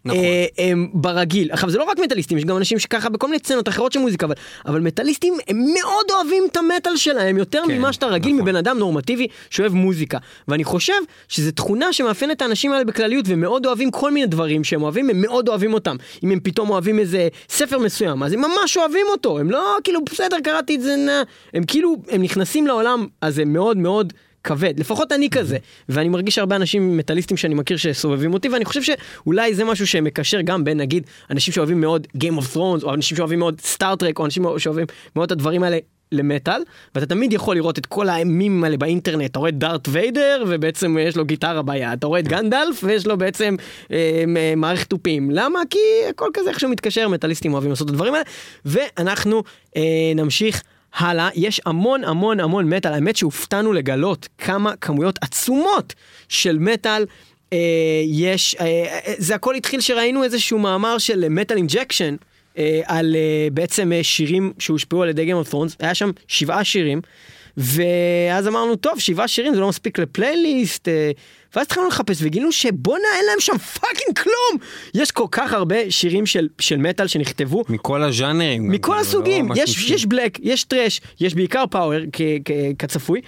ברגיל. עכשיו זה לא רק מטליסטים, יש גם אנשים שככה בכל מיני צנות אחרות של מוזיקה, אבל מטליסטים הם מאוד אוהבים את המטל שלהם, יותר ממה שאתה רגיל מבן אדם נורמטיבי שאוהב מוזיקה. ואני חושב שזו תכונה שמאפיינת את האנשים האלה בכלליות, ומאוד אוהבים כל מיני דברים שהם אוהבים, הם מאוד אוהבים אותם. אם הם פתאום אוהבים איזה ספר מסוים, אז הם ממש אוהבים אותו. הם לא כאילו בסדר, קראתי את זה, הם כאילו, הם נכנסים לעולם, אז הם מאוד מאוד כבד, לפחות אני כזה, ואני מרגיש הרבה אנשים מטליסטים שאני מכיר שסובבים אותי, ואני חושב שאולי זה משהו שמקשר גם בין, נגיד, אנשים שאוהבים מאוד Game of Thrones, או אנשים שאוהבים מאוד Star Trek, או אנשים שאוהבים מאוד את הדברים האלה למטל, ואתה תמיד יכול לראות את כל הימים האלה באינטרנט, אתה רואה את דארט ויידר, ובעצם יש לו גיטרה ביד, אתה רואה את גנדלף, ויש לו בעצם מערכת תופים. למה? כי הכל כזה איך שהוא מתקשר, מטליסטים אוהבים לעשות את הדברים האלה, ואנחנו נמשיך הלאה. יש המון המון המון מטל, האמת שהופתענו לגלות כמה כמויות עצומות של מטל יש, זה הכל התחיל שראינו איזשהו מאמר של מטל אינג'קשן, על בעצם שירים שהושפעו על ידי Game of Thrones, היה שם 7 שירים, ואז אמרנו, טוב, 7 שירים זה לא מספיק לפלייליסט, ואז התחלנו לחפש וגילינו שבונה אין להם שם פאקינג כלום. יש כל כך הרבה שירים של מטל שנכתבו. מכל הז'אנרים. מכל הסוגים. יש בלק, יש טרש, יש בעיקר פאוור כצפוי.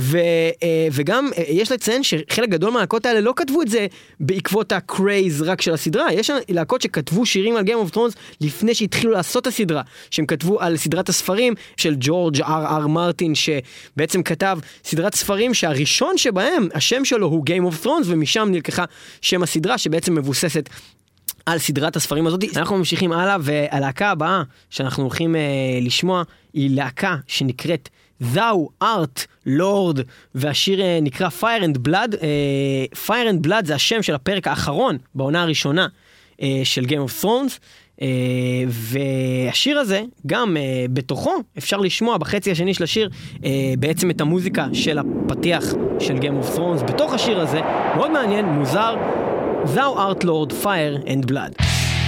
וגם יש לציין שחלק גדול מהלהקות האלה לא כתבו את זה בעקבות הקרייז רק של הסדרה. יש להקות שכתבו שירים על Game of Thrones לפני שהתחילו לעשות את הסדרה. שהם כתבו על סדרת הספרים של ג'ורג' R.R. מרטין, שבעצם כתב סדרת ספרים שהראשון שבהם, השם שלו הוא Game of Thrones, ומשם נלקחה שם הסדרה שבעצם מבוססת על סדרת הספרים הזאת. אנחנו ממשיכים הלאה, והלהקה הבאה שאנחנו הולכים לשמוע היא להקה שנקראת Thou Art Lord, והשיר נקרא Fire and Blood. Fire and Blood זה השם של הפרק האחרון בעונה הראשונה של Game of Thrones, והשיר הזה גם בתוכו אפשר לשמוע בחצי השני של השיר בעצם את המוזיקה של הפתיח של Game of Thrones בתוך השיר הזה, מאוד מעניין, מוזר. Thou Art Lord, Fire and Blood.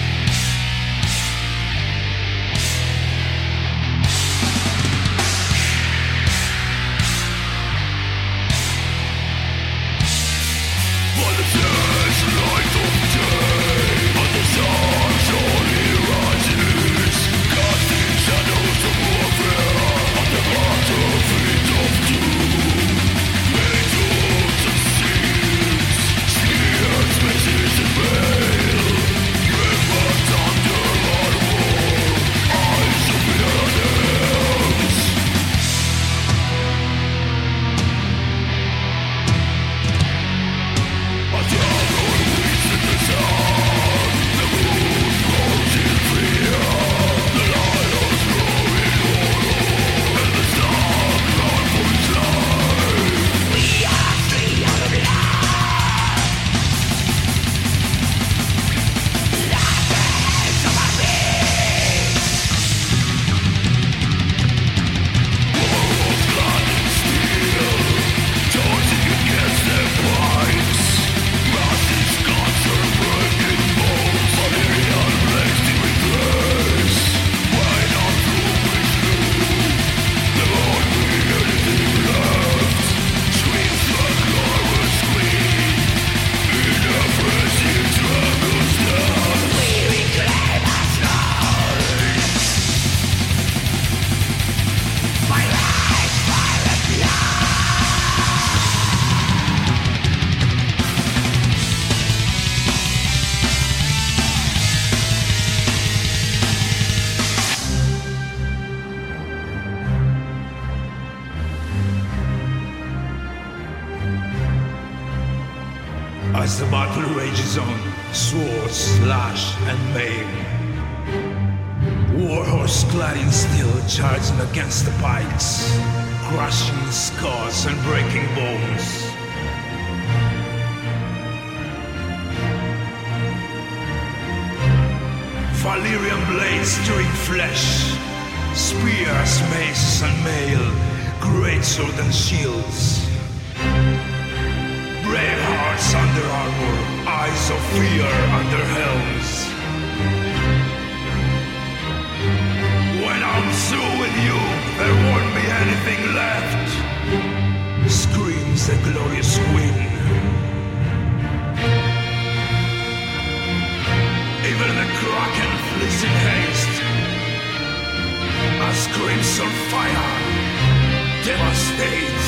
As the battle rages on, swords slash and maim, warhorse clad in steel charging against the pikes, crushing skulls and breaking bones. Valyrian blades tearing flesh, spears, maces and mail, great sword and shields. Brave hearts under armor, eyes of fear under helms. When I'm through with you, there won't be anything left. Screams the glorious wind. crimson fire devastates.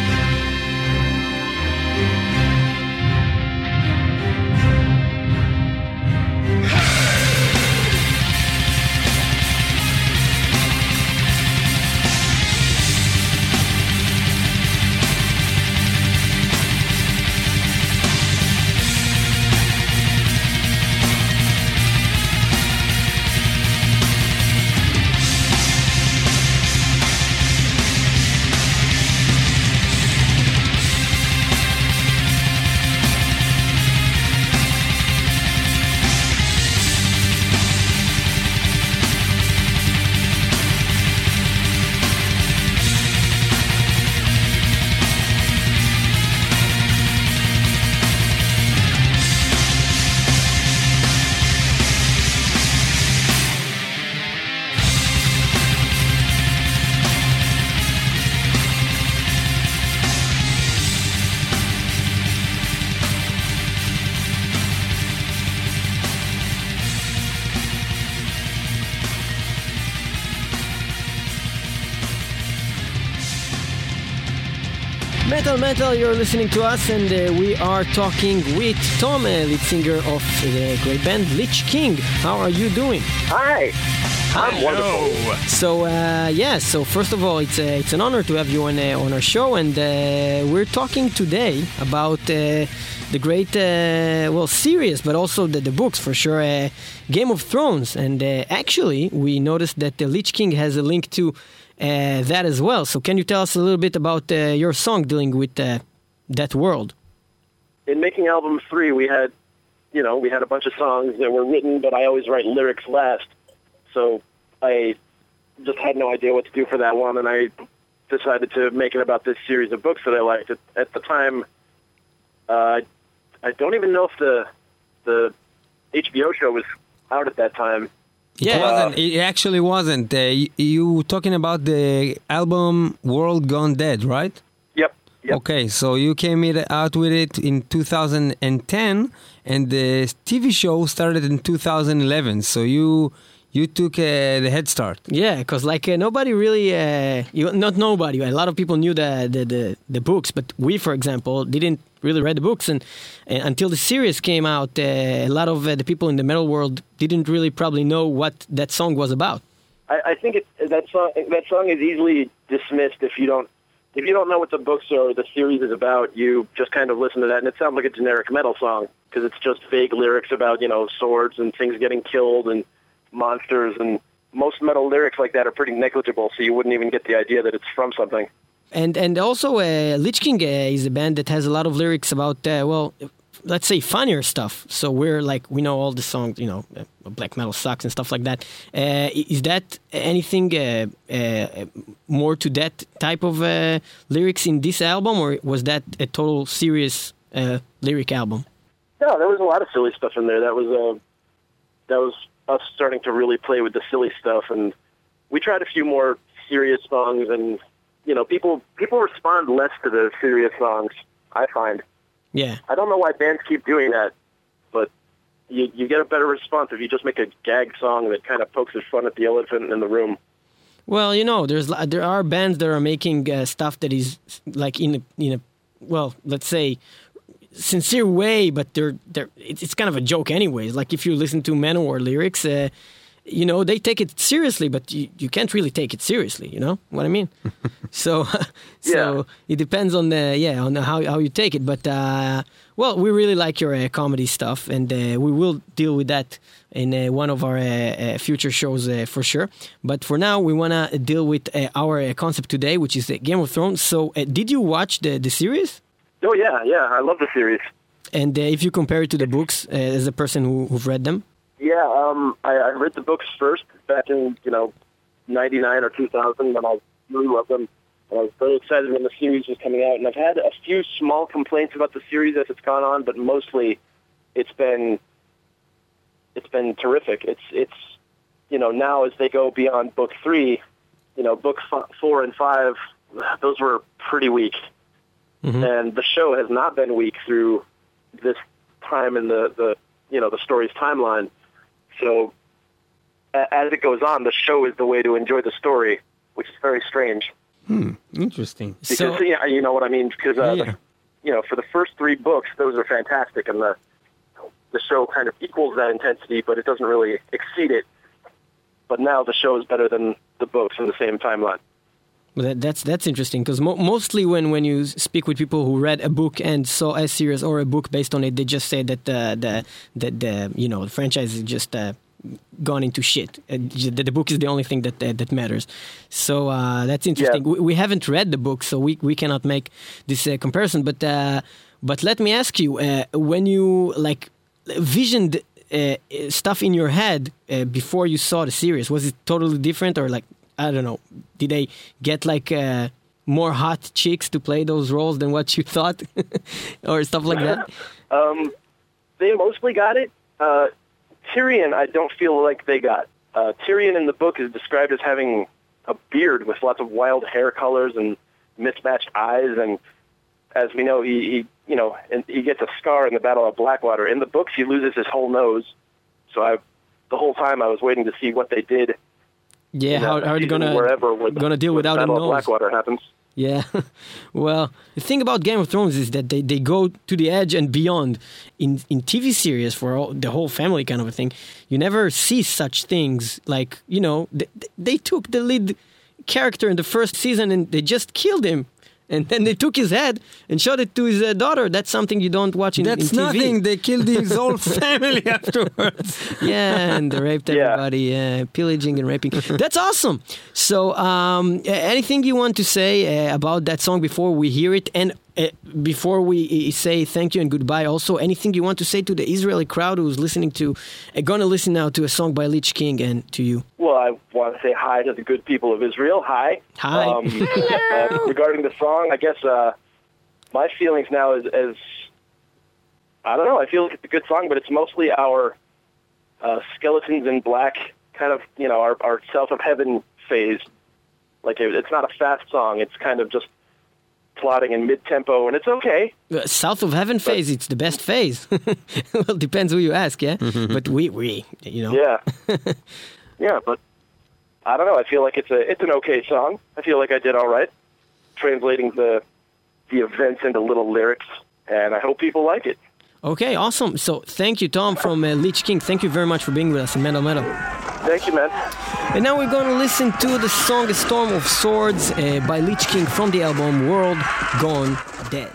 Metal, you're listening to us, and we are talking with Tom, lead singer of the great band Lich King. How are you doing? Hi. I'm wonderful. So first of all, it's an honor to have you on our show, and we're talking today about the great, series, but also the books for sure, Game of Thrones. And actually, we noticed that the Lich King has a link to that as well. So can you tell us a little bit about your song dealing with that world? In making album 3, we had a bunch of songs that were written, but I always write lyrics last. So I just had no idea what to do for that one, and I decided to make it about this series of books that I liked. At the time, I don't even know if the HBO show was out at that time. Yeah, it actually wasn't. You talking about the album World Gone Dead, right? Yep. Okay, so you came out with it in 2010, and the TV show started in 2011. So you took the head start. Yeah, because nobody really, not nobody, a lot of people knew the books, but we, for example, didn't really read the books, and until the series came out, a lot of the people in the metal world didn't really probably know what that song was about. I think that song is easily dismissed if you don't know what the books or the series is about. You just kind of listen to that, and it sounds like a generic metal song because it's just vague lyrics about swords and things getting killed and monsters, and most metal lyrics like that are pretty negligible, so you wouldn't even get the idea that it's from something. And also, Lich King is a band that has a lot of lyrics about, let's say, funnier stuff. So we know all the songs, black metal sucks and stuff like that. Is that anything more to that type of lyrics in this album, or was that a total serious lyric album? No, there was a lot of silly stuff in there. That was us starting to really play with the silly stuff, and we tried a few more serious songs, and people respond less to the serious songs, I find. Yeah. I don't know why bands keep doing that, but you get a better response if you just make a gag song that kind of pokes fun at the elephant in the room. Well, there are bands that are making stuff that is like in a let's say sincere way, but it's kind of a joke anyways. Like if you listen to Manowar lyrics, they take it seriously, but you can't really take it seriously. You know what I mean? So it depends on on how you take it. But we really like your comedy stuff, and we will deal with that in one of our future shows for sure. But for now, we want to deal with our concept today, which is Game of Thrones. So did you watch the series? Oh yeah, I love the series. And if you compare it to the books, as a person who've read them? Yeah, I read the books first back in, 99 or 2000, and I really loved them. And I was very excited when the series was coming out. And I've had a few small complaints about the series as it's gone on, but mostly it's been terrific. It's now as they go beyond book 3, books 4 and 5, those were pretty weak. Mm-hmm. And the show has not been weak through this time in the story's timeline. So as it goes on, the show is the way to enjoy the story. which is very strange. Interesting. Because, you know what I mean? Because, for the first 3 books, those are fantastic, and the show kind of equals that intensity, but it doesn't really exceed it. But now the show is better than the books in the same timeline. Well, that's interesting, because mostly when you speak with people who read a book and saw a series or a book based on it, they just say that the franchise is just gone into shit. The book is the only thing that matters. So that's interesting. Yeah. We haven't read the book, so we cannot make this comparison. But let me ask you, when you visioned stuff in your head before you saw the series, was it totally different, or I don't know, did they get more hot chicks to play those roles than what you thought, or stuff like that? They mostly got it. Tyrion, I don't feel like they got. Tyrion in the book is described as having a beard with lots of wild hair colors and mismatched eyes, and as we know, he gets a scar in the Battle of Blackwater. In the books, he loses his whole nose. So the whole time I was waiting to see what they did. Yeah, how are you gonna deal without a nose? Battle of Blackwater happens. Yeah, well, the thing about Game of Thrones is that they go to the edge and beyond. In TV series for the whole family kind of a thing, you never see such things. They took the lead character in the first season and they just killed him. And then they took his head and showed it to his daughter. That's something you don't watch in TV. That's nothing. They killed his whole family afterwards. Yeah, and they raped everybody, pillaging and raping. That's awesome. So, anything you want to say about that song before we hear it? And before we say thank you and goodbye, also, anything you want to say to the Israeli crowd who's going to listen now to a song by Lich King and to you? Well, I want to say hi to the good people of Israel. Hi. Hi. Regarding the song, I guess my feelings now is I don't know. I feel like it's a good song, but it's mostly our Skeletons in Black kind of, our South of Heaven phase. It's not a fast song. It's kind of just plotting in mid-tempo, and it's okay. South of Heaven phase, it's the best phase. Well, depends who you ask, yeah? But we. Yeah. Yeah, but I don't know. I feel like it's an okay song. I feel like I did all right translating the events into little lyrics, and I hope people like it. Okay, awesome. So thank you, Tom, from Lich King. Thank you very much for being with us in Metal Metal. Thank you, man. And now we're going to listen to the song A Storm of Swords by Lich King from the album World Gone Dead.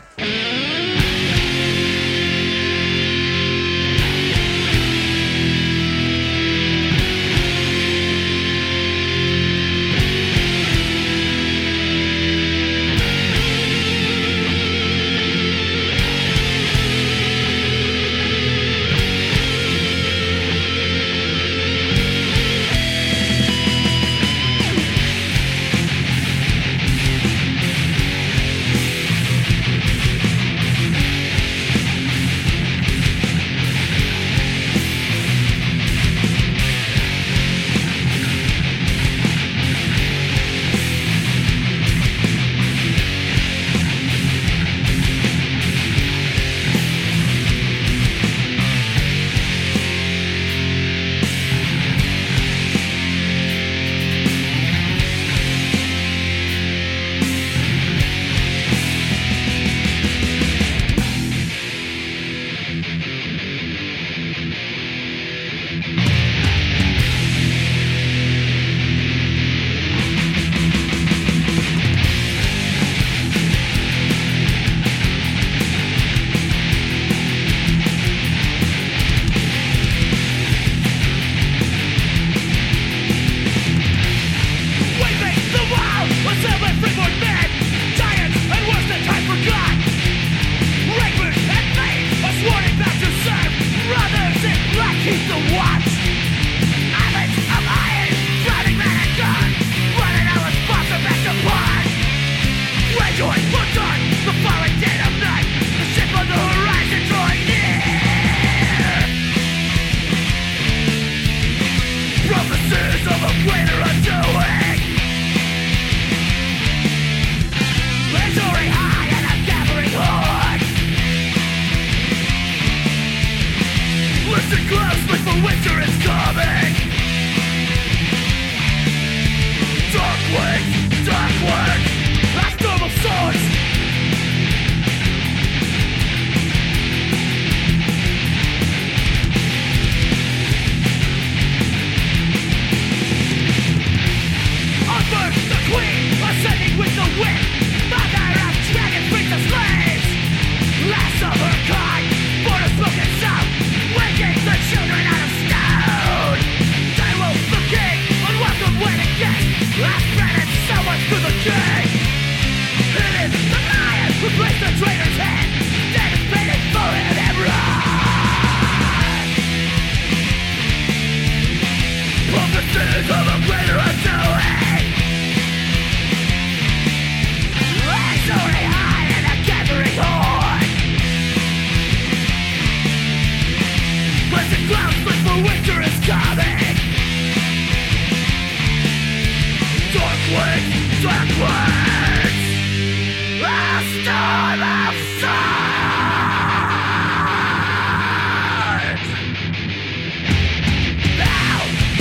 for the king. It is the lion who placed the traitor's head. That is painted for it and run. Of the sins of a greater undoing. Soaring high in a gathering horde. Pleasant clouds split for winter is coming. Dark winds, a storm of swords. Now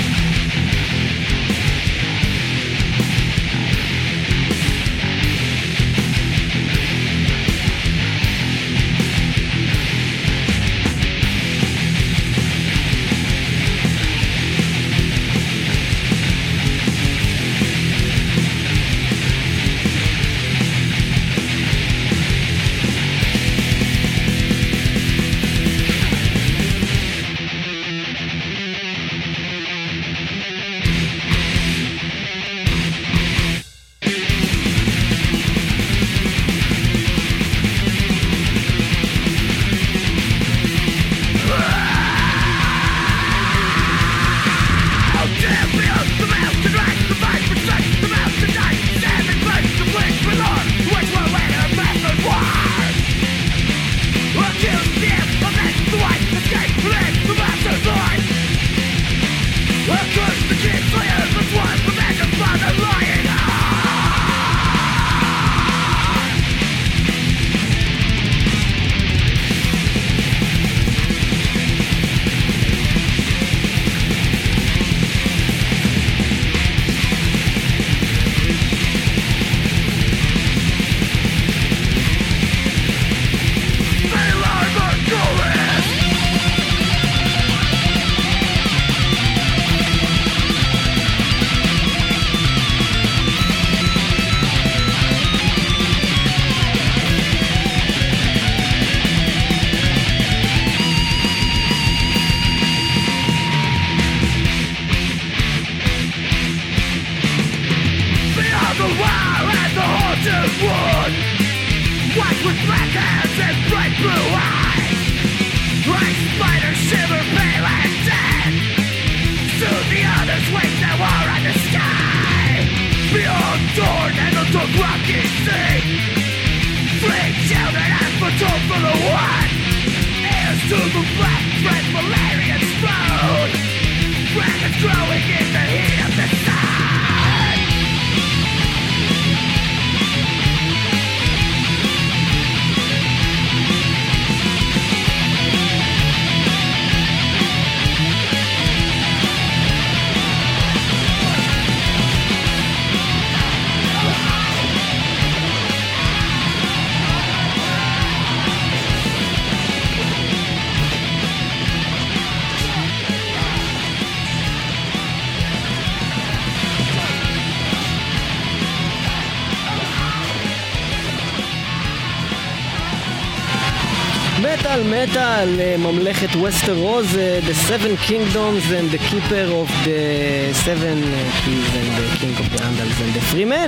מטל, ממלכת וסטרוס, The Seven Kingdoms and the Keeper of the Seven Keys and the King of the Andals and the Free Men.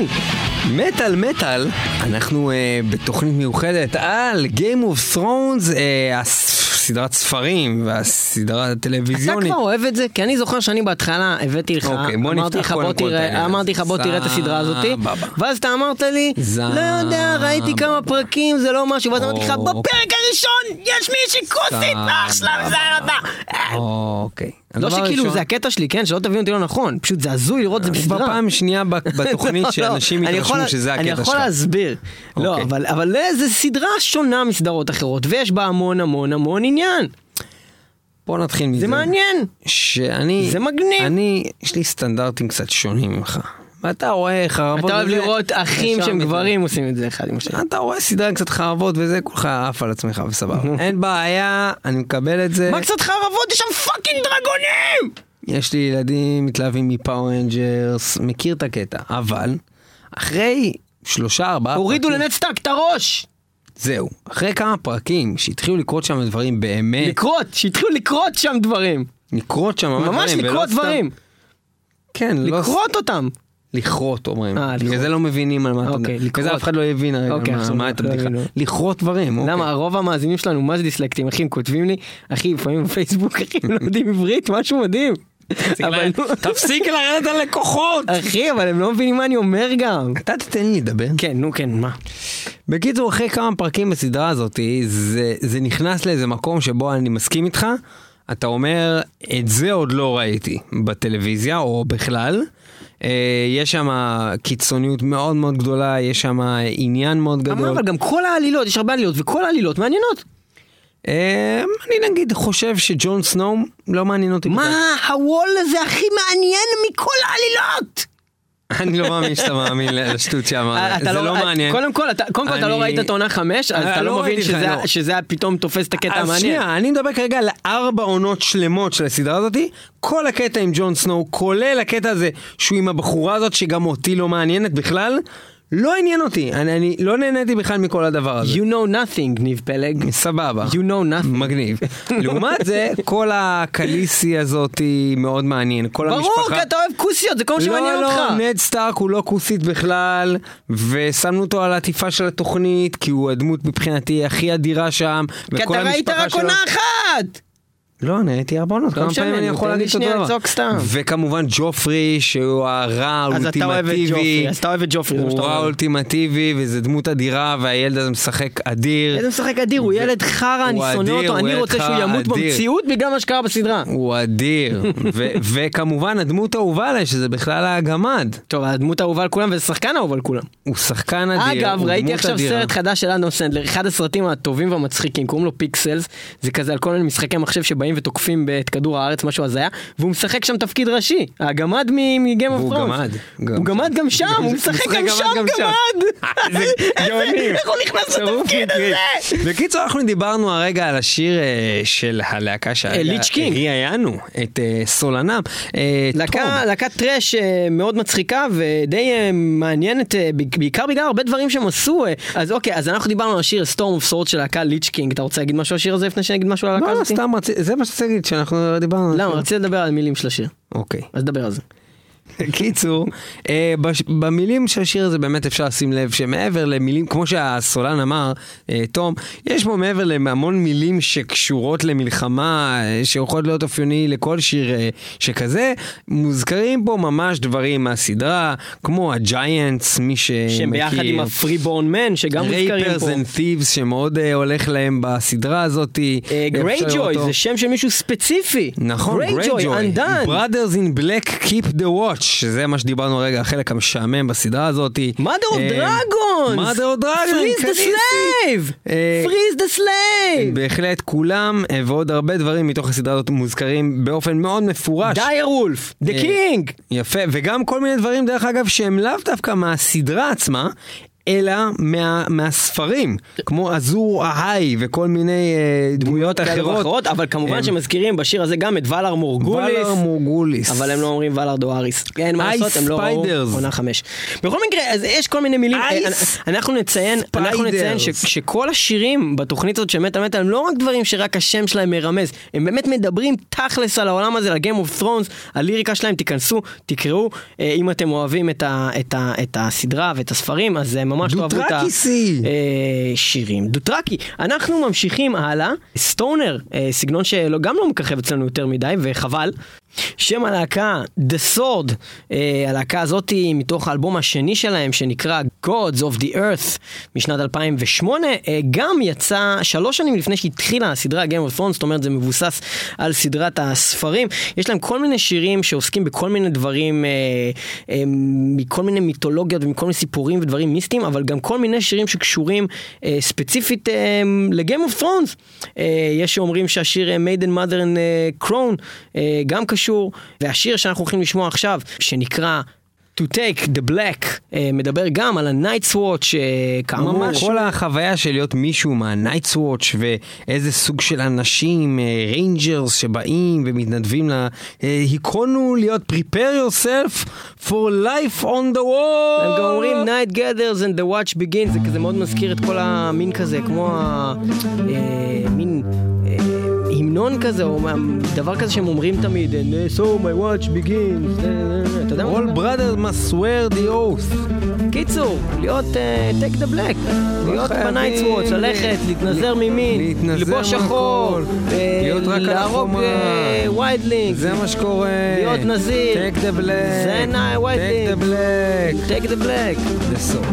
מטל, אנחנו בתוכנית מיוחדת על Game of Thrones, סדרת ספרים והסדרה הטלוויזיונית. אתה כבר אוהב את זה? כי אני זוכר שאני בהתחלה הבאתי לך, אמרתי לך בוא תראה את הסדרה הזאת, ואז אתה אמרת לי, לא יודע, ראיתי כמה פרקים, זה לא משהו, ואז אמרתי לך, בפרק הראשון יש מישהי כוסית, אח שלה מזהר אותה. אוקיי. לא שכאילו זה הקטע שלי, כן? שלא תבינו אותי לא נכון, פשוט זה הזוי לראות את זה בסדרה. בפעם שנייה בתוכנית שאנשים יתרשמו שזה הקטע שלך. אני יכול להסביר. לא, אבל זה סדרה שונה מסדרות אחרות, ויש בה המון עניין. בוא נתחיל מזה. זה מעניין. זה מגניב. יש לי סטנדרטים קצת שונים ממך. ואתה רואה חרבות... אתה אוהב לראות אחים שהם גברים עושים את זה אחד עם השני. אתה רואה סדרה קצת חרבות וזה, כולך עף על עצמך וסבבה. אין בעיה, אני מקבל את זה. מה קצת חרבות? יש שם פאקינג דרגונים! יש לי ילדים מתלהבים מפאור רנג'רס, מכיר את הקטע. אבל, אחרי 3-4 פרקים... הורידו לנדסטארק את הראש! זהו. אחרי כמה פרקים שהתחילו לקרות שם דברים באמת... שהתחילו לקרות שם דברים. לקרות שם ממש לקרות דברים. כן, לקרות אותם. לכרות, אומרים. לכרות. בגלל זה לא מבינים על מה אתה מדבר. בגלל זה אף אחד לא הבין מה אתה בדיחה. לכרות דברים. למה, הרוב המאזינים שלנו, מה זה דיסלקטים? אחי, הם כותבים לי, אחי, לפעמים בפייסבוק, אחי, הם לא יודעים עברית, משהו מדהים. תפסיק לרדת על לקוחות. אחי, אבל הם לא מבינים מה אני אומר גם. אתה תתן לי לדבר. כן, נו כן, מה? בקיצור, אחרי כמה פרקים בסדרה הזאת, זה נכנס לאיזה מקום שבו אני מסכים איתך, אתה אומר, את זה עוד לא ראיתי בטלוויזיה או בכלל. יש שם קיצוניות מאוד מאוד גדולה, יש שם עניין מאוד גדול. אבל גם כל העלילות, יש הרבה עלילות, וכל העלילות מעניינות. אני נגיד חושב שג'ון סנואו לא מעניין אותי. מה? הוול הזה הכי מעניין מכל העלילות! אני לא מאמין שאתה מאמין לשטות שאמרת, זה לא מעניין. קודם כל אתה לא ראית את העונה 5, אז אתה לא מבין שזה פתאום תופס את הקטע המעניין. שנייה, אני מדבר כרגע על 4 עונות שלמות של הסדרה הזאת, כל הקטע עם ג'ון סנואו, כולל הקטע הזה שהוא עם הבחורה הזאת שגם אותי לא מעניינת בכלל, לא עניין אותי, אני לא נהניתי בכלל מכל הדבר הזה. You know nothing, ניב פלג. סבבה. You know nothing. מגניב. לעומת זה, כל הקליסי הזאת היא מאוד מעניין. כל ברור, המשפחה... כי אתה אוהב כוסיות, זה כל מה שמעניין אותך. לא, נד סטארק הוא לא כוסית בכלל, ושמנו אותו על העטיפה של התוכנית, כי הוא הדמות מבחינתי הכי אדירה שם. כי אתה ראית רק עונה אחת! לא, נהייתי 4 עונות, כמה פעמים אני יכול להגיד אותו דבר. וכמובן ג'ופרי, שהוא הרע האולטימטיבי. אז אתה אוהב את ג'ופרי. הוא רע אולטימטיבי, וזה דמות אדירה, והילד הזה משחק אדיר. איזה משחק אדיר, הוא ילד חרה, אני שונא אותו, אני רוצה שהוא ימות במציאות בגלל מה שקרה בסדרה. הוא אדיר. וכמובן, הדמות האהובה עליי, שזה בכלל הגמד. טוב, הדמות האהובה על כולם, וזה שחקן האהוב על כולם. הוא שחקן אדיר. אגב, ראיתי עכשיו סרט חדש של אדם סנדלר, אחד הסרטים הטובים והמצחיקים, קוראים לו פיקסלס, זה כזה על כל מיני משחקי מחשב שבאים ותוקפים את כדור הארץ, משהו הזיה, והוא משחק שם תפקיד ראשי, הגמד מגיים אוף ת'רונס. הוא גמד גם שם, הוא משחק גם שם גמד. זה גאונים. איך הוא נכנס לתפקיד הזה? בקיצור, אנחנו דיברנו הרגע על השיר של הלהקה ליץ' קינג. ראיינו את סולנם. להקת טרש מאוד מצחיקה ודי מעניינת, בעיקר בגלל הרבה דברים שהם עשו. אז אוקיי, אז אנחנו דיברנו על השיר Storm of Swords של להקה ליץ' קינג. אתה רוצה להגיד משהו על השיר הזה לפני שנגיד משהו על הלהקה הזאת? לא, סתם, זה מה שצריך להגיד שאנחנו דיברנו. למה? רציתי לדבר על מילים של השיר. אוקיי. אז דבר על זה. קיצור, במילים של השיר הזה באמת אפשר לשים לב שמעבר למילים, כמו שהסולן אמר, תום, יש פה מעבר להמון מילים שקשורות למלחמה, שיכולות להיות אופייני לכל שיר שכזה, מוזכרים פה ממש דברים מהסדרה, כמו הג'יינטס, מי שמכיר. שהם ביחד עם הפריבורן מן, שגם מוזכרים פה. רייפרס אנד תיבס, שמאוד הולך להם בסדרה הזאת. גרייג'וי, זה שם של מישהו ספציפי. נכון, גרייג'וי. Brothers in Black keep the watch. שזה מה שדיברנו רגע, החלק המשעמם בסדרה הזאת. Mother of Dragons! Mother of Dragons! Freeze the slave! Freeze the slave! בהחלט כולם ועוד הרבה דברים מתוך הסדרה הזאת מוזכרים באופן מאוד מפורש. דייר וולף! The King! יפה, וגם כל מיני דברים דרך אגב שהם לאו דווקא מהסדרה עצמה, אלא מהספרים, כמו אזור ההי וכל מיני דמויות אחרות. אבל כמובן שמזכירים בשיר הזה גם את ולר מורגוליס. אבל הם לא אומרים ולר דואריס. אין מה לעשות, הם לא ראו עונה 5. בכל מקרה, אז יש כל מיני מילים. אנחנו נציין שכל השירים בתוכנית הזאת של מטל מטל הם לא רק דברים שרק השם שלהם מרמז, הם באמת מדברים תכלס על העולם הזה, על Game of Thrones, הליריקה שלהם, תיכנסו, תקראו, אם אתם אוהבים את הסדרה ואת הספרים, אז ממש תאהבו את השירים. דוטרקי. אנחנו ממשיכים הלאה. סטונר, סגנון שגם לא מככב אצלנו יותר מדי, וחבל. שם הלהקה, The Sword, הלהקה הזאת היא מתוך האלבום השני שלהם, שנקרא Gods of the Earth, משנת 2008, גם יצא 3 שנים לפני שהתחילה הסדרה Game of Thrones, זאת אומרת זה מבוסס על סדרת הספרים. יש להם כל מיני שירים שעוסקים בכל מיני דברים, מכל מיני מיתולוגיות ומכל מיני סיפורים ודברים מיסטיים, אבל גם כל מיני שירים שקשורים ספציפית ל-Game of Thrones. יש שאומרים שהשיר Maiden Mother and Crown גם קשור, והשיר שאנחנו הולכים לשמוע עכשיו, שנקרא To Take the Black, מדבר גם על ה-Night's Watch, כאמור. ממש כל החוויה של להיות מישהו מה-Night's Watch, ואיזה סוג של אנשים, ריינג'רס שבאים ומתנדבים היכונו להיות prepare yourself for life on the wall. הם גם אומרים Night gathers and the watch begins, זה כזה מאוד מזכיר את כל המין כזה, כמו המין המנון כזה, או דבר כזה שהם אומרים תמיד, So my watch begins, אתה יודע מה? All brothers must swear the oath. קיצור, להיות take the black, להיות בנייטס וואץ', ללכת, להתנזר ממין, לבוש שחור, להרוג ויידלינג, זה מה שקורה. להיות נזיר, take the black, זה ויידלינג, take the black, take the black. זה סוף.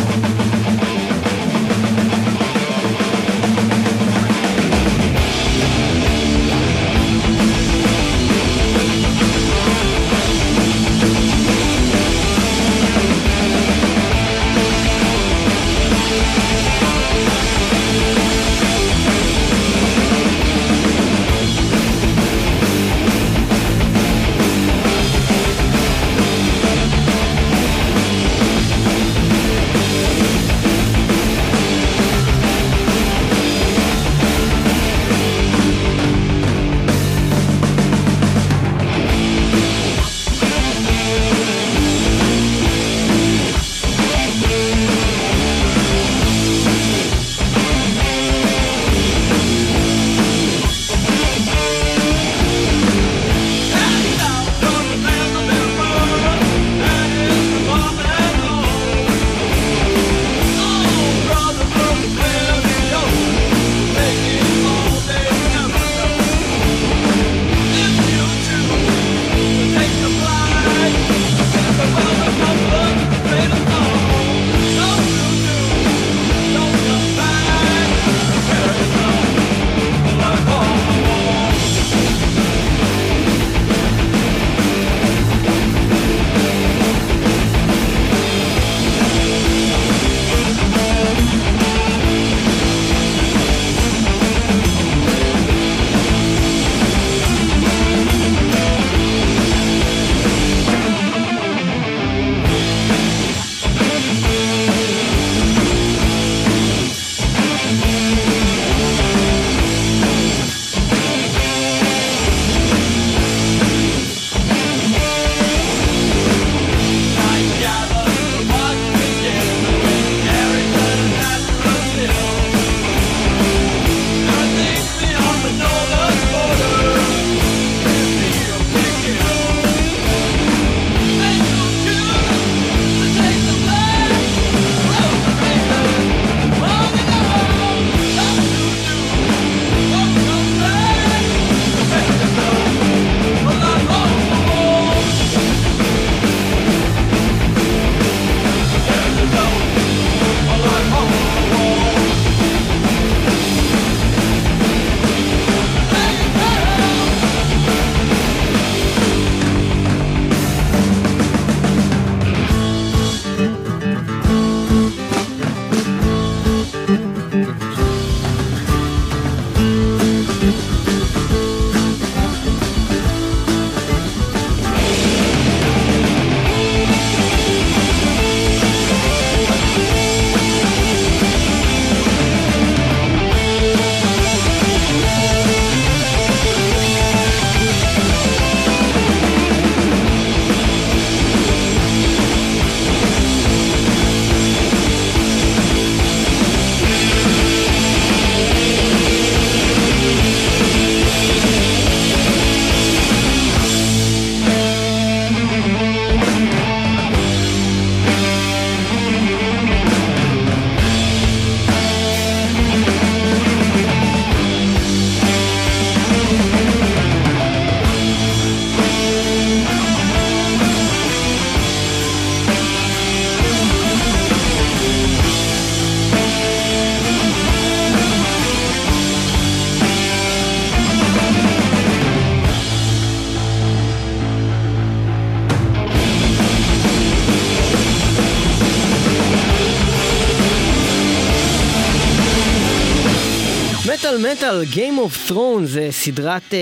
מטל, Game of Thrones, זה סדרת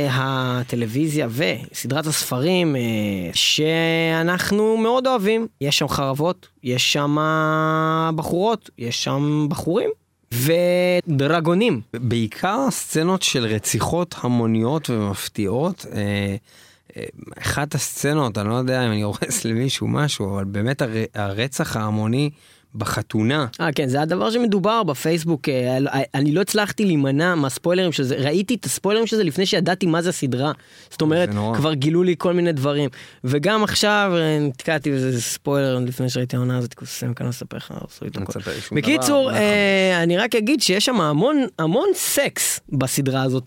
הטלוויזיה וסדרת הספרים שאנחנו מאוד אוהבים. יש שם חרבות, יש שם בחורות, יש שם בחורים ודרגונים. בעיקר סצנות של רציחות המוניות ומפתיעות. אחת הסצנות, אני לא יודע אם אני הורס למישהו משהו, אבל באמת הרצח ההמוני בחתונה. כן, זה הדבר שמדובר בפייסבוק, אני לא הצלחתי להימנע מהספוילרים של זה, ראיתי את הספוילרים של זה לפני שידעתי מה זה הסדרה, זאת אומרת, כבר גילו לי כל מיני דברים, וגם עכשיו נתקעתי בזה ספוילר לפני שראיתי העונה הזאת, קוסם כאן לספר לך, בקיצור, אני רק אגיד שיש שם המון סקס בסדרה הזאת,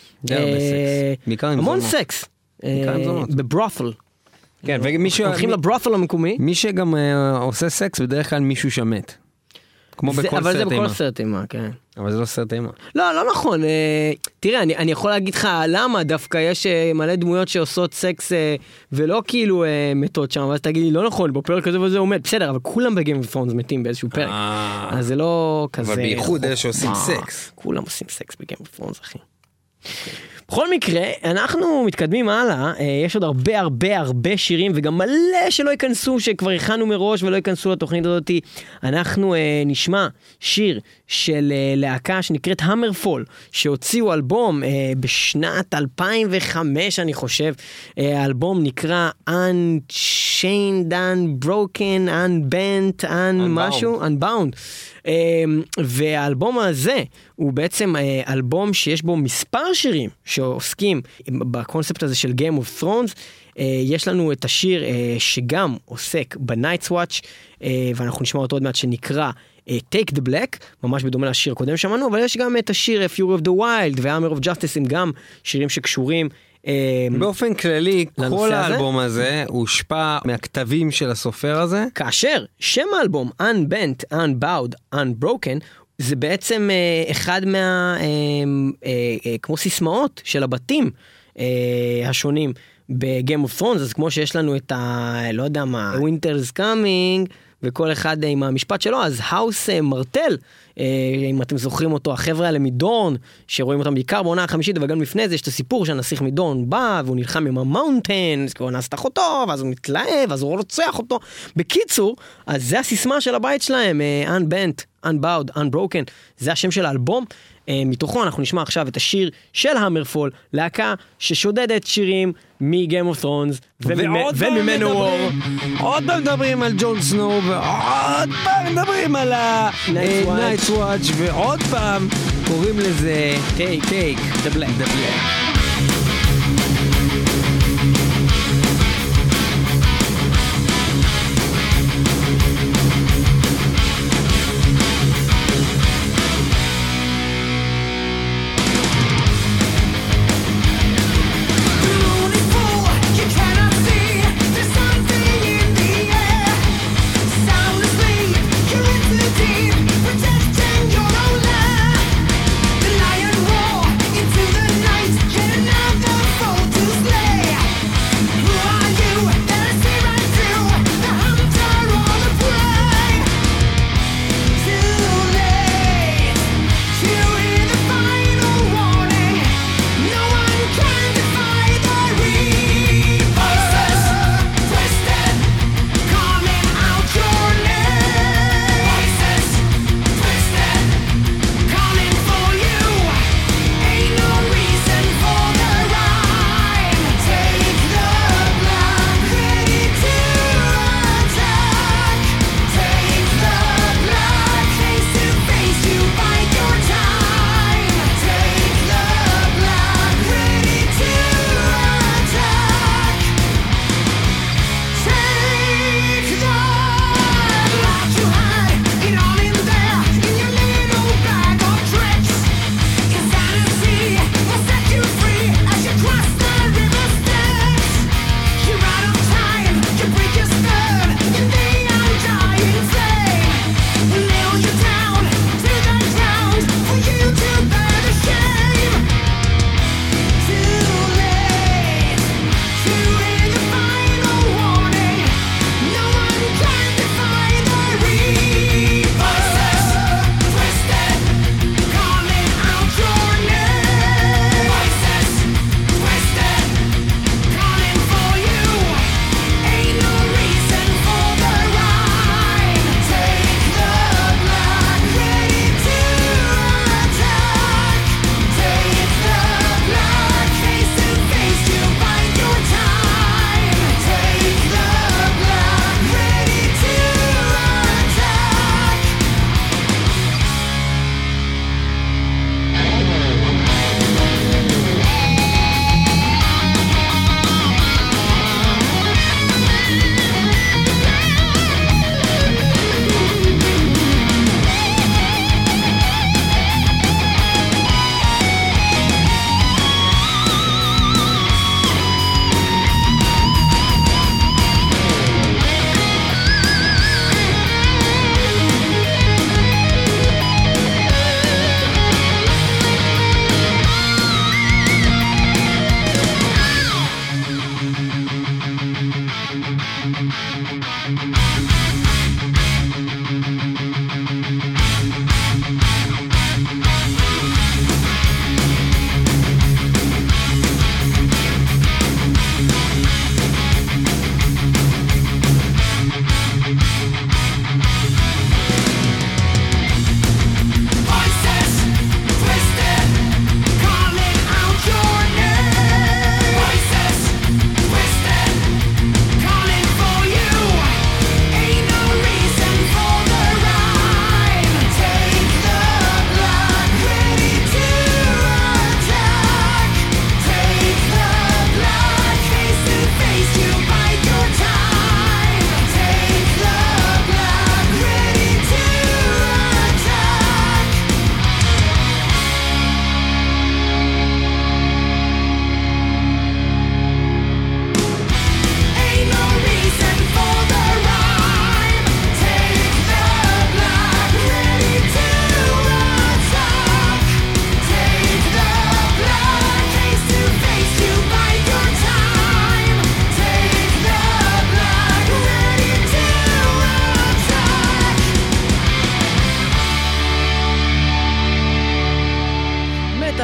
המון סקס, בברות'ל, כן, הולכים לברות'ל המקומי. מי שגם עושה סקס בדרך כלל מישהו שמת. כמו בכל סרט אימה. אבל זה בכל סרט אימה, כן. אבל זה לא סרט אימה. לא נכון. תראה, אני יכול להגיד לך למה דווקא יש מלא דמויות שעושות סקס ולא כאילו מתות שם, אבל תגיד לי, לא נכון, בפרק הזה וזה עומד. בסדר, אבל כולם בגיים אוף ת'רונס מתים באיזשהו פרק. אז זה לא כזה... אבל בייחוד אלה שעושים סקס. כולם עושים סקס בגיים אוף ת'רונס, אחי. בכל מקרה, אנחנו מתקדמים הלאה, יש עוד הרבה שירים, וגם מלא שלא ייכנסו, שכבר הכנו מראש ולא ייכנסו לתוכנית הזאת. אנחנו נשמע שיר של להקה שנקראת המרפול, שהוציאו אלבום בשנת 2005, אני חושב. האלבום נקרא Unchained, Unbroken, Unbent, משהו, Unbound. והאלבום הזה הוא בעצם אלבום שיש בו מספר שירים שעוסקים בקונספט הזה של Game of Thrones. יש לנו את השיר שגם עוסק ב-Night's Watch, ואנחנו נשמע אותו עוד מעט, שנקרא Take the Black, ממש בדומה לשיר הקודם שמענו, אבל יש גם את השיר Fury of the Wild ו-Hammer of Justice, הם גם שירים שקשורים באופן כללי, כל האלבום הזה הושפע מהכתבים של הסופר הזה. כאשר שם האלבום Unbent, Unbowed, Unbroken, זה בעצם אחד כמו סיסמאות של הבתים השונים בגיים אוף ת'רונס. אז כמו שיש לנו את לא יודע מה, Winter's Coming, וכל אחד עם המשפט שלו, אז האוס מרטל, אם אתם זוכרים אותו, החבר'ה האלה מדורן, שרואים אותם בעיקר בעונה החמישית, וגם לפני זה יש את הסיפור שהנסיך מדורן בא, והוא נלחם עם המאונטנס, כי הוא אנס את אחותו, ואז הוא מתלהב, אז הוא רוצח אותו. בקיצור, אז זה הסיסמה של הבית שלהם, Unbent, Unbowed, Unbroken, זה השם של האלבום. מתוכו אנחנו נשמע עכשיו את השיר של המרפול, להקה ששודדת שירים מ-Game of Thrones וממנו וור. עוד פעם מדברים על ג'ון סנואו, ועוד פעם מדברים על ה-Night's Watch, ועוד פעם קוראים לזה Take the Black. Protecting your own land. The lion roar into the night.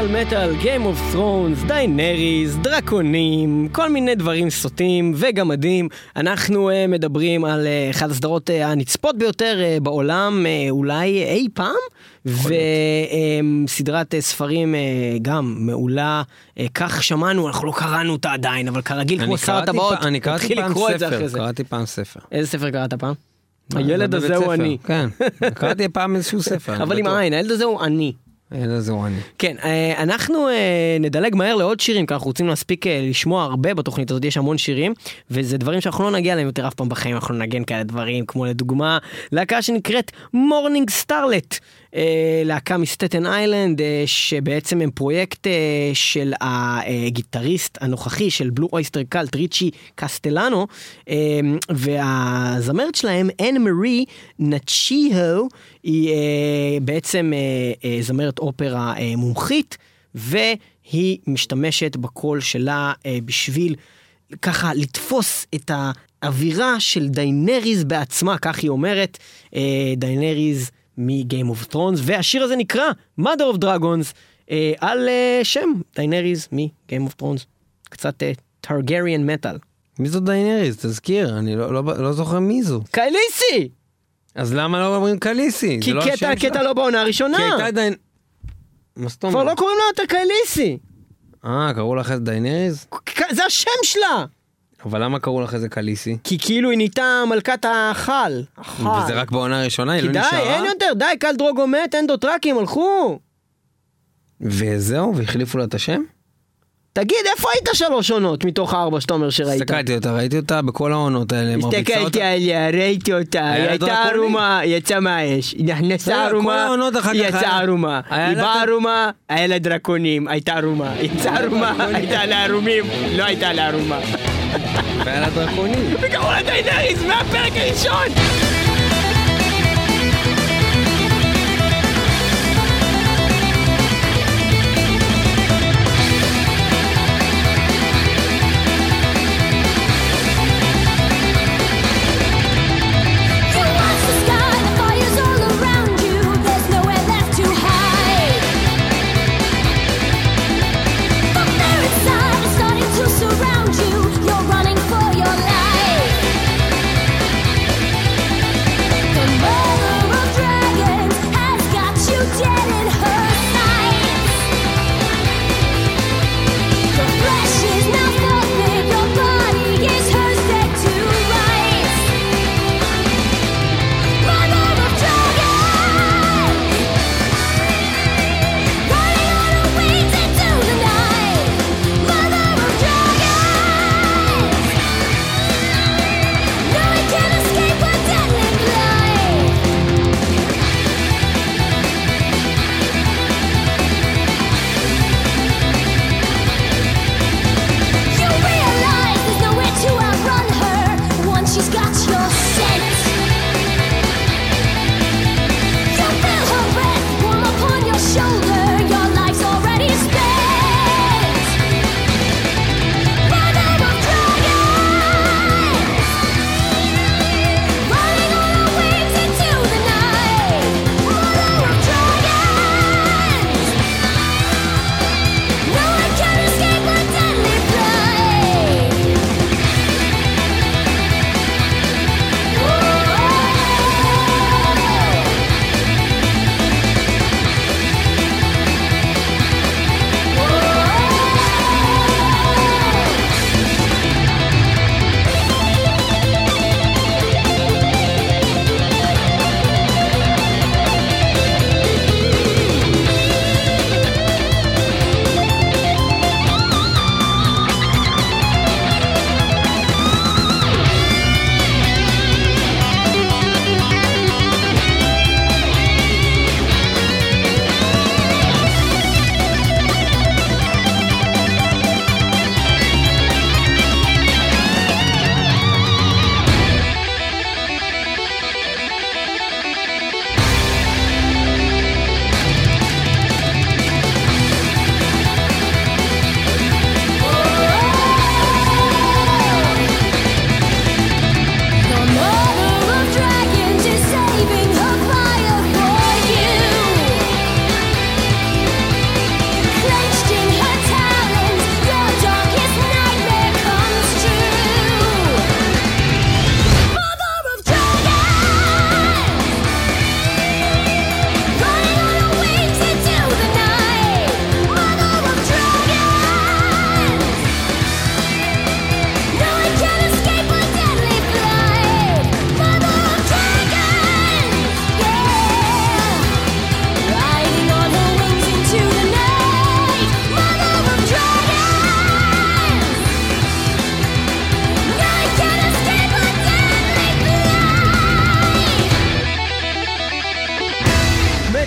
מטל, Game of Thrones, דיינריז, דרקונים, כל מיני דברים סוטים וגמדים. אנחנו מדברים על אחת הסדרות הנצפות ביותר בעולם, אולי אי פעם, וסדרת ספרים גם מעולה, כך שמענו, אנחנו לא קראנו אותה עדיין, אבל כרגיל כמו שר הטבעות, אני קראתי פעם ספר, קראתי פעם ספר. איזה ספר קראת פעם? הילד הזה הוא אני. כן, קראתי פעם איזשהו ספר. אבל עם העין, הילד הזה הוא אני. זהו אני. כן, אנחנו נדלג מהר לעוד שירים, כי אנחנו רוצים להספיק לשמוע הרבה בתוכנית הזאת, יש המון שירים, וזה דברים שאנחנו לא נגיע להם יותר אף פעם בחיים, אנחנו נגן כאלה דברים, כמו לדוגמה, להקה שנקראת מורנינג סטארלט, להקה מסטטן איילנד, שבעצם הם פרויקט של הגיטריסט הנוכחי של בלו אויסטר קאלט, ריצ'י קסטלנו, והזמרת שלהם, אן מרי נצ'יהו, היא בעצם זמרת אופרה מומחית, והיא משתמשת בקול שלה בשביל ככה לתפוס את האווירה של דיינריז בעצמה, כך היא אומרת, דיינריז מ-Game of Thrones, והשיר הזה נקרא Mother of Dragons, על שם דיינריז מ-Game of Thrones, קצת טרגריאן מטל. מי זו דיינריז? תזכיר, אני לא זוכר מי זו. קייליסי! אז למה לא אומרים קליסי? כי קטע לא בעונה הראשונה. כי הייתה מה זאת אומרת? כבר לא קוראים לה יותר קייליסי. קראו לך איזה דיינריז? זה השם שלה! אבל למה קראו לך איזה קליסי? כי כאילו היא נהייתה מלכת החל. וזה רק בעונה הראשונה, היא לא נשארה? כי די, אין יותר, די, קל דרוגו מת, אין דוטרקים, הלכו. וזהו, והחליפו לה את השם? תגיד, איפה היית 3 עונות מתוך 4 שאתה אומר שראית? הסתכלתי אותה, ראיתי אותה בכל העונות האלה. הסתכלתי עליה, ראיתי אותה, היא הייתה ערומה, יצא מהאש, היא נכנסה ערומה, יצא ערומה, היא באה ערומה, היה לה דרקונים, הייתה ערומה, יצאה ערומה, הייתה לה ערומים, לא הייתה לה ערומה. והיה לה דרקונים. וקראו לה דיינריז מהפרק הראשון! Surround you, you're running for your life.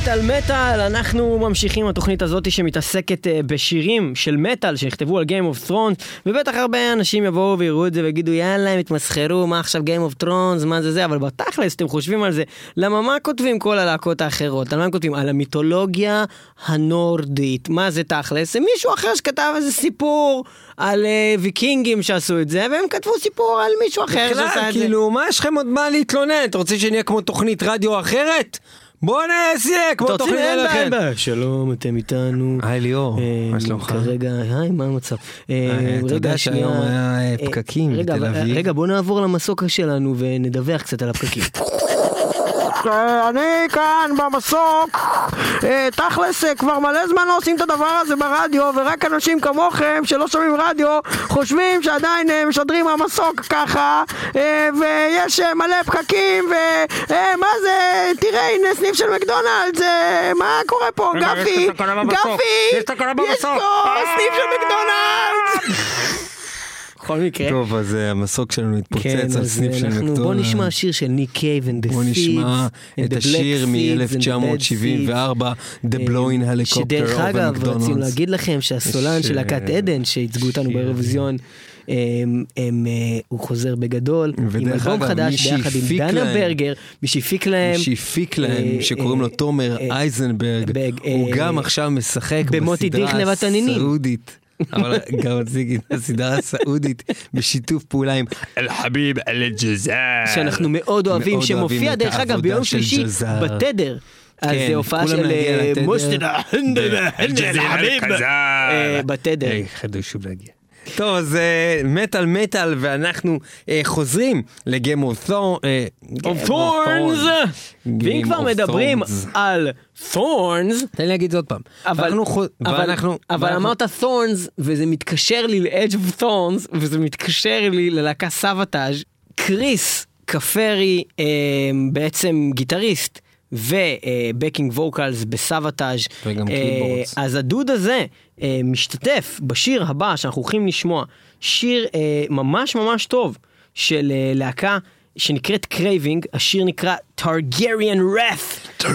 מטל מטל, אנחנו ממשיכים התוכנית הזאת שמתעסקת בשירים של מטל שנכתבו על Game of Thrones, ובטח הרבה אנשים יבואו ויראו את זה ויגידו יאללה הם התמסחרו, מה עכשיו Game of Thrones, מה זה, אבל בתכלס אתם חושבים על זה, למה מה כותבים כל הלהקות האחרות, על מה הם כותבים? על המיתולוגיה הנורדית, מה זה תכלס? זה מישהו אחר שכתב איזה סיפור על ויקינגים שעשו את זה, והם כתבו סיפור על מישהו אחר שעשה את זה. כאילו, מה יש לכם עוד מה להתלונן? אתה רוצה שנהיה כמו תוכנית רדיו אחרת? בוא נעשה כמו תוכנית אחרת. שלום, אתם איתנו. היי ליאור, מה שלומך? כרגע, היי, מה המצב? אתה יודע שהיום היה פקקים בתל אביב. רגע, בוא נעבור למסוק שלנו ונדווח קצת על הפקקים. אני כאן במסוק, תכלס כבר מלא זמן לא עושים את הדבר הזה ברדיו, ורק אנשים כמוכם שלא שומעים רדיו חושבים שעדיין משדרים המסוק ככה, ויש מלא פקקים, ומה זה, תראה הנה סניף של מקדונלדס, מה קורה פה, גפי, יש פה סניף של מקדונלדס. בכל מקרה. טוב, אז המסוק שלנו התפוצץ על סניף של מקדונלדס. בוא נשמע שיר של ניק קייב and the Seeds. בוא נשמע את השיר מ-1974, The Blowing Helicopter of שדרך אגב, McDonald's. רצינו להגיד לכם שהסולן של להקת עדן, שהצגו אותנו באירוויזיון, הוא חוזר בגדול, עם אלבום חדש ביחד עם דנה ברגר, מי שהפיק להם, שקוראים לו תומר אייזנברג, הוא גם עכשיו משחק בסדרה הסעודית. אבל גם מציג את הסדרה הסעודית בשיתוף פעולה עם אל-חביב אל-ג'זאר, שאנחנו מאוד אוהבים, שמופיע דרך אגב ביום שלישי בתדר. אז זה הופעה של מוסטד אל-חביב בתדר. חדש שוב להגיע. טוב, אז מטל, ואנחנו חוזרים לגיים אוף תורנס. ואם כבר מדברים על תורנס, תן לי להגיד זאת פעם. אבל אמרת תורנס, וזה מתקשר לי ל-Edge of Thorns, וזה מתקשר לי ללהקה סאבטאז'. קריס קפרי, בעצם גיטריסט, ובקינג ווקלס בסאבטאז'. וגם קיבורדס. אז הדוד הזה משתתף בשיר הבא שאנחנו הולכים לשמוע, שיר ממש ממש טוב של להקה שנקראת קרייבינג, השיר נקרא Targaryen Wrath.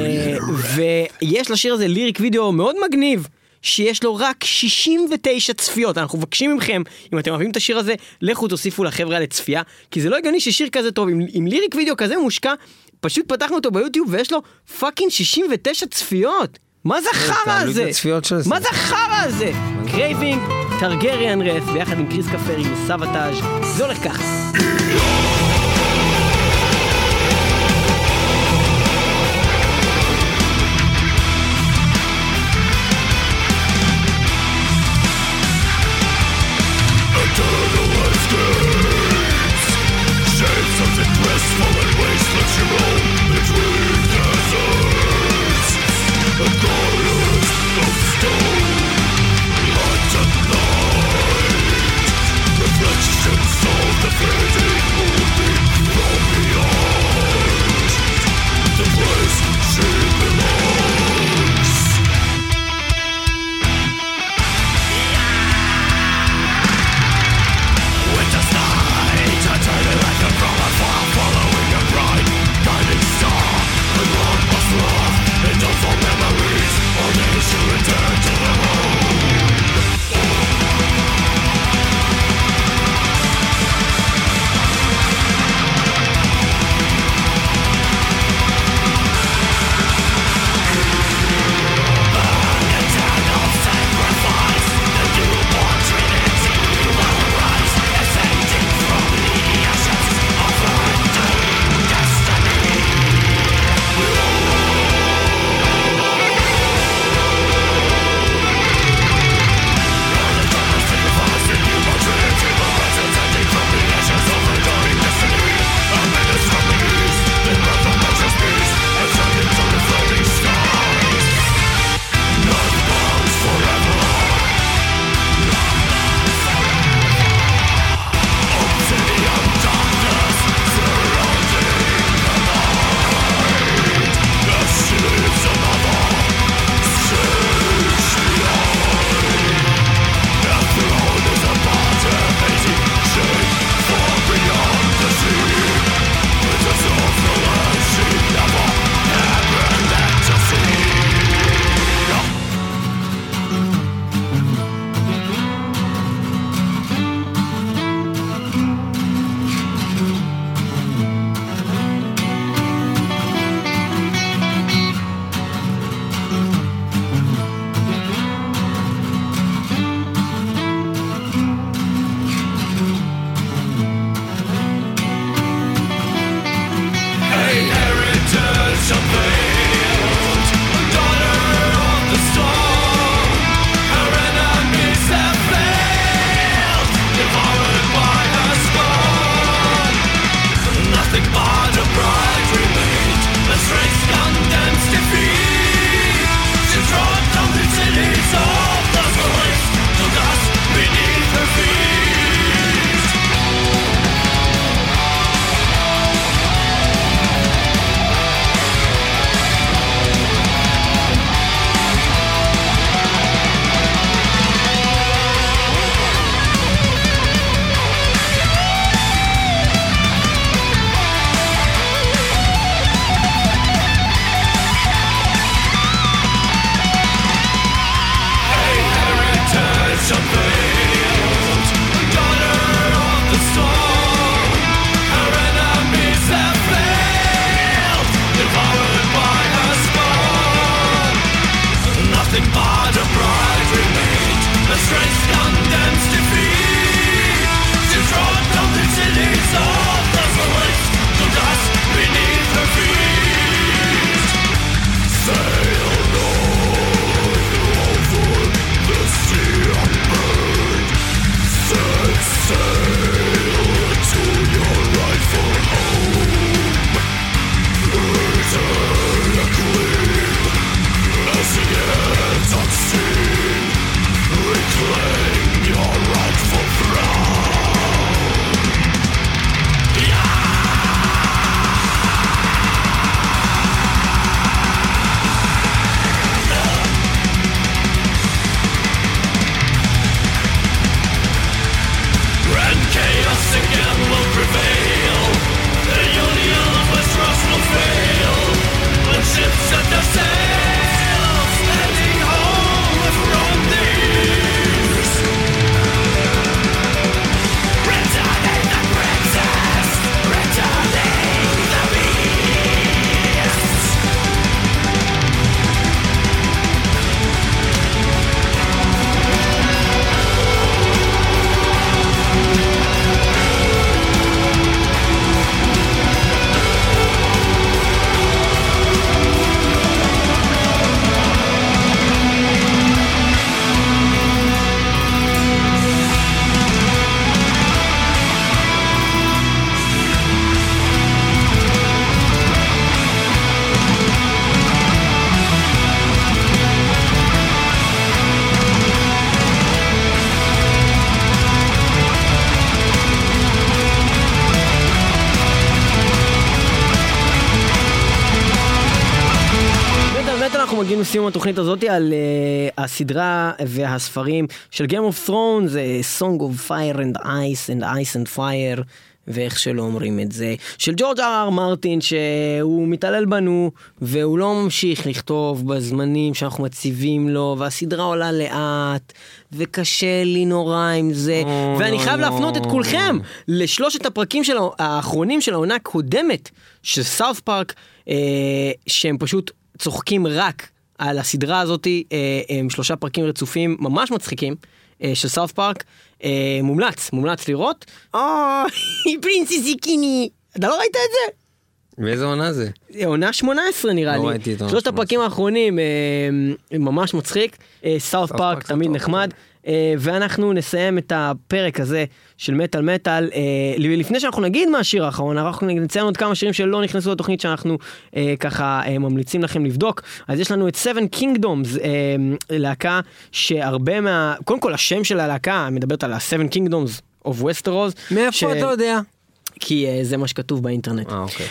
ויש לשיר הזה ליריק וידאו מאוד מגניב, שיש לו רק 69 צפיות. אנחנו מבקשים מכם, אם אתם אוהבים את השיר הזה, לכו תוסיפו לחבר'ה לצפייה, כי זה לא הגיוני ששיר כזה טוב, עם ליריק וידאו כזה מושקע, פשוט פתחנו אותו ביוטיוב ויש לו פאקינג 69 צפיות. מה זה החרא הזה? מה זה החרא הזה? קרייבינג, טרגריאן רף, ביחד עם קריס קפרי וסאבטאז'. זה הולך ככה. Reflections of the fading moon. אנחנו מגיעים לסיום התוכנית הזאת על הסדרה והספרים של Game of Thrones, Song of Fire and Ice and Ice and Fire, ואיך שלא אומרים את זה, של ג'ורג' אר מרטין, שהוא מתעלל בנו, והוא לא ממשיך לכתוב בזמנים שאנחנו מציבים לו, והסדרה עולה לאט, וקשה לי נורא עם זה, ואני חייב להפנות את כולכם לשלושת הפרקים האחרונים של העונה הקודמת, של סאוף פארק, שהם פשוט צוחקים רק על הסדרה הזאת, הם 3 פרקים רצופים ממש מצחיקים, של סאוף פארק, מומלץ לראות. פרינססי קיני, אתה לא ראית את זה? באיזה עונה זה? עונה 18 נראה לי. לא ראיתי את עונה 3 הפרקים האחרונים ממש מצחיק, סאוף פארק תמיד נחמד, ואנחנו נסיים את הפרק הזה של מטל. לפני שאנחנו נגיד מה השיר האחרון, אנחנו נציין עוד כמה שירים שלא נכנסו לתוכנית שאנחנו ככה ממליצים לכם לבדוק. אז יש לנו את Seven Kingdoms, להקה שהרבה קודם כל השם של הלהקה מדברת על ה-Seven Kingdoms of Westeros. מאיפה אתה יודע? כי זה מה שכתוב באינטרנט. אוקיי.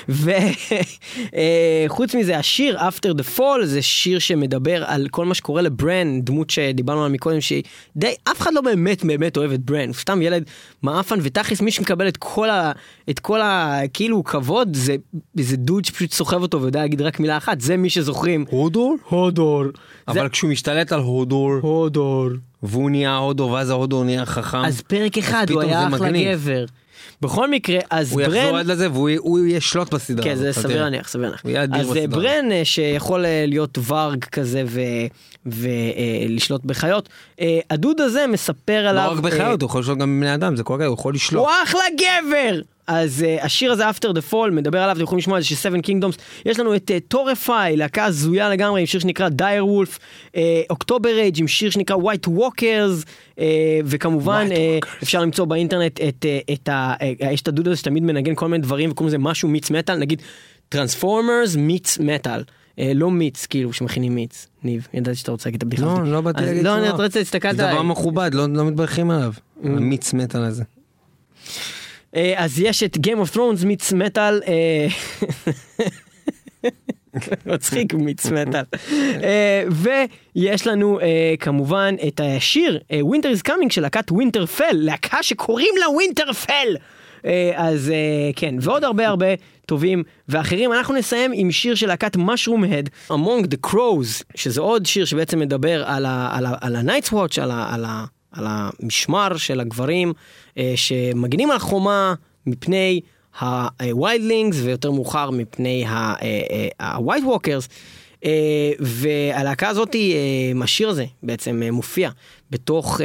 וחוץ מזה, השיר After the Fall זה שיר שמדבר על כל מה שקורה לברן, דמות שדיברנו עליה מקודם, שדי, אף אחד לא באמת אוהב את ברן, הוא סתם ילד מאפן, ותכלס מי שמקבל את כל כאילו כבוד, זה דוד שפשוט סוחב אותו ויודע להגיד רק מילה אחת, זה מי שזוכרים. הודור. אבל כשהוא משתלט על הודור, והוא נהיה הודור, ואז ההודור נהיה חכם. אז פרק אחד הוא היה אחלה גבר. בכל מקרה, אז הוא ברן... הוא יחזור עד לזה והוא ישלוט בסדרה. כן, זה סביר להניח. אז ברן שיכול להיות ורג כזה ולשלוט בחיות, הדוד הזה מספר עליו... לא רק בחיות, הוא יכול לשלוט גם בבני אדם, זה כל כך, הוא יכול לשלוט. הוא אחלה גבר! אז השיר הזה After the Fall מדבר עליו, אתם יכולים לשמוע את זה של 7 Kingdoms. יש לנו את טורפיי, להקה זויה לגמרי עם שיר שנקרא Dire Wolf, אוקטובר אייג' עם שיר שנקרא White Walkers, וכמובן אפשר למצוא באינטרנט יש את הדוד הזה שתמיד מנגן כל מיני דברים וקוראים לזה משהו מיץ מטל, נגיד Transformers מיץ מטל, לא מיץ כאילו שמכינים מיץ. ניב, ידעתי שאתה רוצה להגיד את הבדיחה. לא באתי להגיד לא, אני רוצה להסתכל זה דבר מכובד, לא מתברכים עליו המיץ מטל הזה. אז יש את Game of Thrones מיץ מטל, מצחיק מיץ מטל, ויש לנו כמובן את השיר Winter is Coming של להקת Winterfell, להקה שקוראים לה Winterfell, אז כן, ועוד הרבה טובים ואחרים. אנחנו נסיים עם שיר של להקת Mushroom Head, Among the Crows, שזה עוד שיר שבעצם מדבר על ה-Night's Watch, על המשמר של הגברים שמגנים על החומה מפני ה-Wildlings ויותר מאוחר מפני ה-White Walkers, והלהקה הזאת, השיר הזה בעצם מופיע בתוך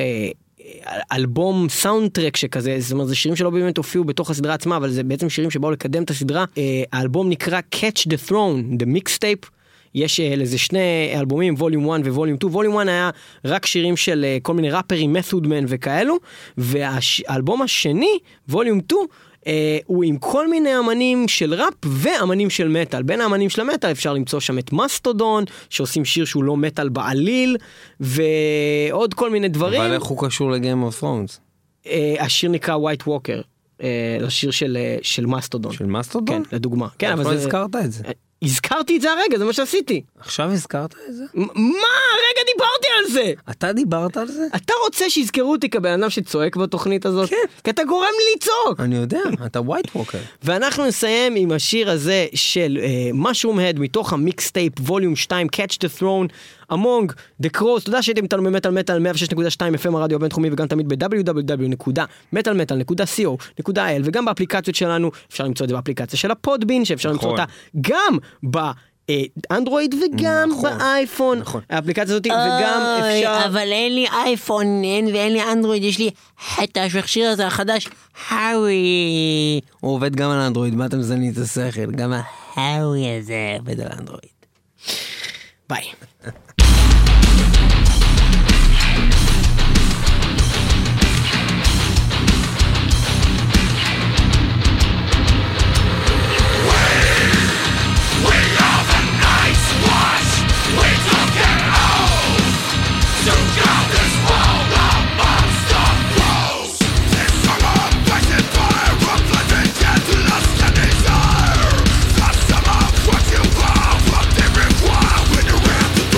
אלבום סאונדטרק שכזה, זאת אומרת זה שירים שלא באמת הופיעו בתוך הסדרה עצמה, אבל זה בעצם שירים שבאו לקדם את הסדרה. האלבום נקרא Catch the Throne, The Mixtape. יש לזה 2 אלבומים, ווליום 1 וווליום 2. ווליום 1 היה רק שירים של כל מיני ראפרים, Method Man וכאלו, והאלבום השני, ווליום 2, הוא עם כל מיני אמנים של ראפ ואמנים של מטל. בין האמנים של המטל אפשר למצוא שם את מסטודון, שעושים שיר שהוא לא מטל בעליל, ועוד כל מיני דברים. אבל איך הוא קשור לגיים אוף ת'רונס? השיר נקרא White Walker, לשיר של מסטודון. של מסטודון? כן, לדוגמה. כן, אבל הזכרת את זה. הזכרתי את זה הרגע, זה מה שעשיתי. עכשיו הזכרת את זה? מה? רגע דיברתי על זה! אתה דיברת על זה? אתה רוצה שיזכרו אותי כבן אדם שצועק בתוכנית הזאת? כן. כי אתה גורם לי לצעוק! אני יודע, אתה ווייט ווקר. ואנחנו נסיים עם השיר הזה של Mushroom Head מתוך המיקסטייפ ווליום 2, Catch the Throne, Among the Crows. תודה שהייתם איתנו במטל מטל 106.2 FM הרדיו הבינתחומי, וגם תמיד ב-www.metalmetal.co.il, וגם באפליקציות שלנו. אפשר למצוא את זה באפליקציה של הפודבין, שאפשר למצוא אותה גם באנדרואיד וגם באייפון. האפליקציה הזאת, וגם אפשר... אבל אין לי אייפון ואין לי אנדרואיד, יש לי חטא שהכשיר הזה החדש, האווי. הוא עובד גם על אנדרואיד, מה אתם מזלני את השכל? גם האווי הזה עובד על אנדרואיד. ביי. What you want, what they require when you have to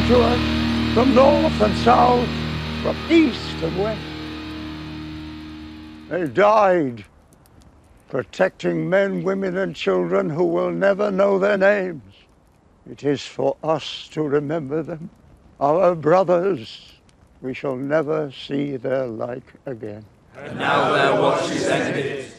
to us from north and south, from east and west. They died protecting men, women, and children who will never know their names. It is for us to remember them. Our brothers, we shall never see their like again. And now their watch is ended.